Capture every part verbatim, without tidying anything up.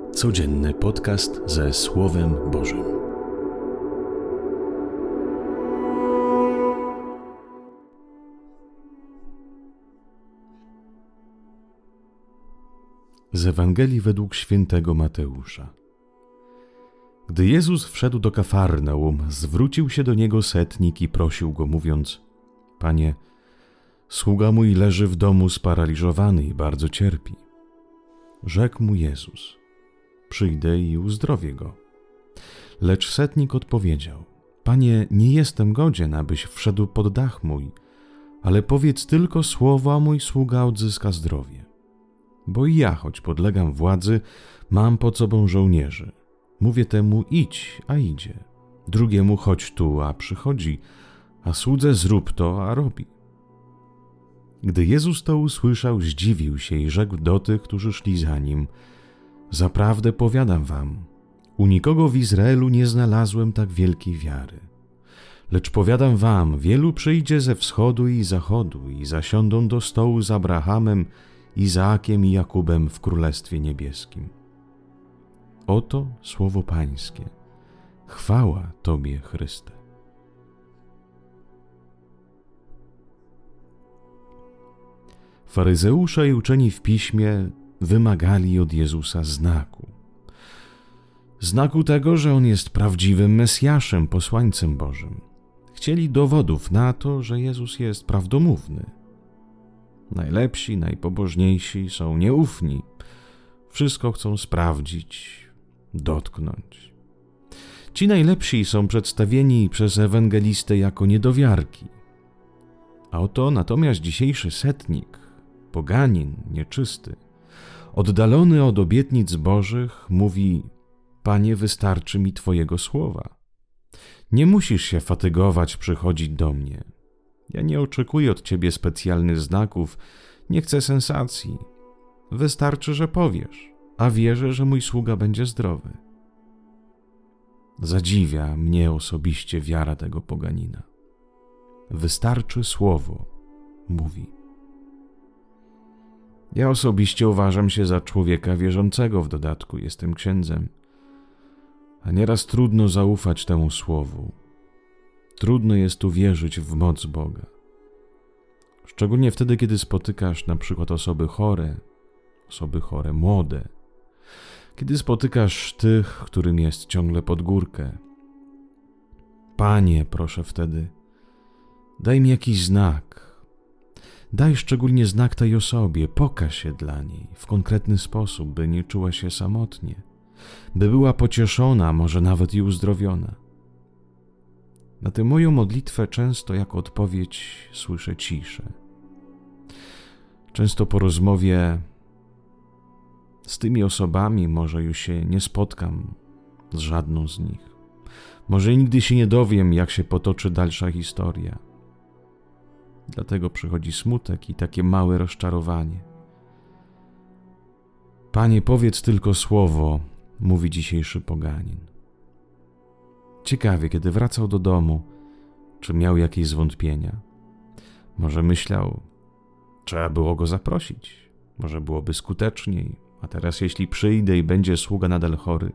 Codzienny podcast ze Słowem Bożym. Z Ewangelii według świętego Mateusza. Gdy Jezus wszedł do Kafarnaum, zwrócił się do niego setnik i prosił go, mówiąc: Panie, sługa mój leży w domu sparaliżowany i bardzo cierpi. Rzekł mu Jezus: przyjdę i uzdrowię go. Lecz setnik odpowiedział: Panie, nie jestem godzien, abyś wszedł pod dach mój, ale powiedz tylko słowo, a mój sługa odzyska zdrowie. Bo i ja, choć podlegam władzy, mam pod sobą żołnierzy. Mówię temu: idź, a idzie. Drugiemu: chodź tu, a przychodzi. A słudze: zrób to, a robi. Gdy Jezus to usłyszał, zdziwił się i rzekł do tych, którzy szli za nim: zaprawdę powiadam wam, u nikogo w Izraelu nie znalazłem tak wielkiej wiary. Lecz powiadam wam, wielu przyjdzie ze wschodu i zachodu i zasiądą do stołu z Abrahamem, Izaakiem i Jakubem w Królestwie Niebieskim. Oto słowo Pańskie. Chwała Tobie, Chryste. Faryzeusze i uczeni w piśmie wymagali od Jezusa znaku. Znaku tego, że On jest prawdziwym Mesjaszem, posłańcem Bożym. Chcieli dowodów na to, że Jezus jest prawdomówny. Najlepsi, najpobożniejsi są nieufni. Wszystko chcą sprawdzić, dotknąć. Ci najlepsi są przedstawieni przez ewangelistę jako niedowiarki. A oto natomiast dzisiejszy setnik, poganin, nieczysty, oddalony od obietnic Bożych, mówi: Panie, wystarczy mi Twojego słowa. Nie musisz się fatygować przychodzić do mnie. Ja nie oczekuję od Ciebie specjalnych znaków, nie chcę sensacji. Wystarczy, że powiesz, a wierzę, że mój sługa będzie zdrowy. Zadziwia mnie osobiście wiara tego poganina. Wystarczy słowo, mówi. Ja osobiście uważam się za człowieka wierzącego, w dodatku jestem księdzem. A nieraz trudno zaufać temu słowu. Trudno jest uwierzyć w moc Boga. Szczególnie wtedy, kiedy spotykasz na przykład osoby chore, osoby chore młode. Kiedy spotykasz tych, którym jest ciągle pod górkę. Panie, proszę wtedy, daj mi jakiś znak. Daj szczególnie znak tej osobie, pokaż się dla niej w konkretny sposób, by nie czuła się samotnie, by była pocieszona, może nawet i uzdrowiona. Na tę moją modlitwę często jako odpowiedź słyszę ciszę. Często po rozmowie z tymi osobami może już się nie spotkam z żadną z nich. Może nigdy się nie dowiem, jak się potoczy dalsza historia. Dlatego przychodzi smutek i takie małe rozczarowanie. Panie, powiedz tylko słowo, mówi dzisiejszy poganin. Ciekawie, kiedy wracał do domu, czy miał jakieś zwątpienia. Może myślał, trzeba było go zaprosić. Może byłoby skuteczniej, a teraz jeśli przyjdę i będzie sługa nadal chory.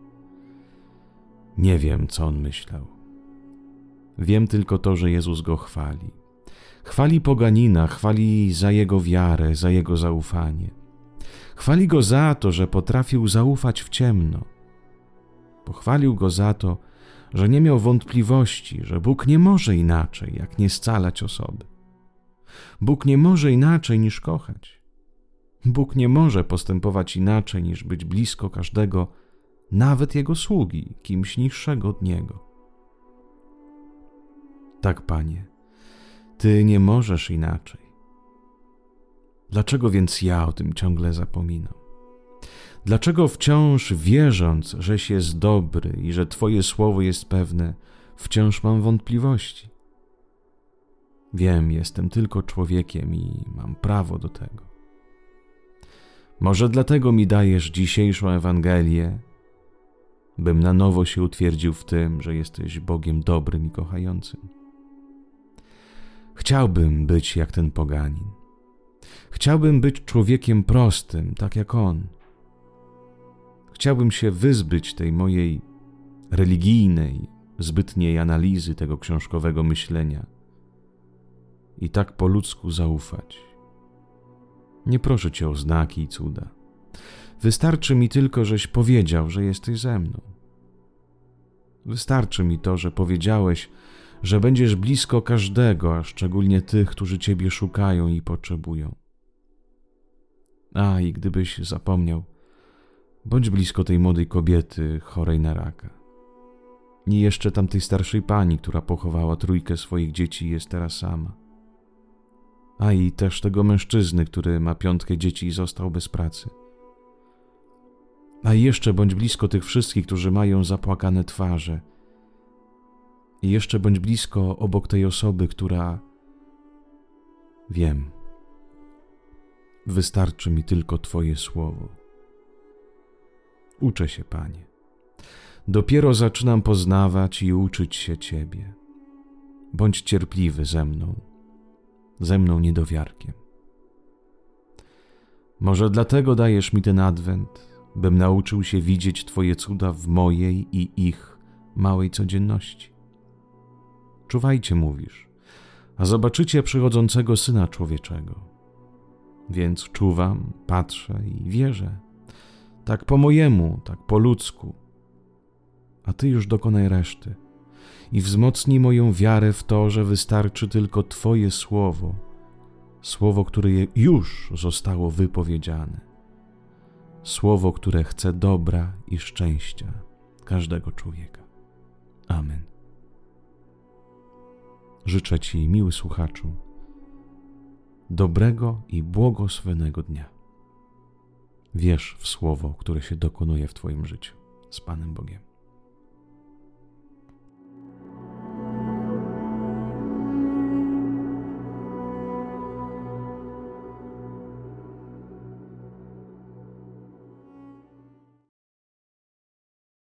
Nie wiem, co on myślał. Wiem tylko to, że Jezus go chwali. Chwali poganina, chwali za jego wiarę, za jego zaufanie. Chwali go za to, że potrafił zaufać w ciemno. Pochwalił go za to, że nie miał wątpliwości, że Bóg nie może inaczej, jak nie scalać osoby. Bóg nie może inaczej niż kochać. Bóg nie może postępować inaczej niż być blisko każdego, nawet Jego sługi, kimś niższego od Niego. Tak, Panie, Ty nie możesz inaczej. Dlaczego więc ja o tym ciągle zapominam? Dlaczego wciąż wierząc, żeś jest dobry i że Twoje słowo jest pewne, wciąż mam wątpliwości? Wiem, jestem tylko człowiekiem i mam prawo do tego. Może dlatego mi dajesz dzisiejszą Ewangelię, bym na nowo się utwierdził w tym, że jesteś Bogiem dobrym i kochającym. Chciałbym być jak ten poganin. Chciałbym być człowiekiem prostym, tak jak on. chciałbym się wyzbyć tej mojej religijnej, zbytniej analizy tego książkowego myślenia i tak po ludzku zaufać. Nie proszę Cię o znaki i cuda. Wystarczy mi tylko, żeś powiedział, że jesteś ze mną. Wystarczy mi to, że powiedziałeś, że będziesz blisko każdego, a szczególnie tych, którzy Ciebie szukają i potrzebują. A i gdybyś zapomniał, bądź blisko tej młodej kobiety chorej na raka. I jeszcze tamtej starszej pani, która pochowała trójkę swoich dzieci i jest teraz sama. A i też tego mężczyzny, który ma piątkę dzieci i został bez pracy. A i jeszcze bądź blisko tych wszystkich, którzy mają zapłakane twarze. I jeszcze bądź blisko obok tej osoby, która... Wiem. Wystarczy mi tylko Twoje słowo. Uczę się, Panie. Dopiero zaczynam poznawać i uczyć się Ciebie. Bądź cierpliwy ze mną, ze mną niedowiarkiem. Może dlatego dajesz mi ten adwent, bym nauczył się widzieć Twoje cuda w mojej i ich małej codzienności. Czuwajcie, mówisz, a zobaczycie przychodzącego Syna Człowieczego. Więc czuwam, patrzę i wierzę. Tak po mojemu, tak po ludzku. A Ty już dokonaj reszty i wzmocnij moją wiarę w to, że wystarczy tylko Twoje słowo, słowo, które już zostało wypowiedziane, słowo, które chce dobra i szczęścia każdego człowieka. Amen. Życzę Ci, miły słuchaczu, dobrego i błogosławionego dnia. Wierz w słowo, które się dokonuje w Twoim życiu. Z Panem Bogiem.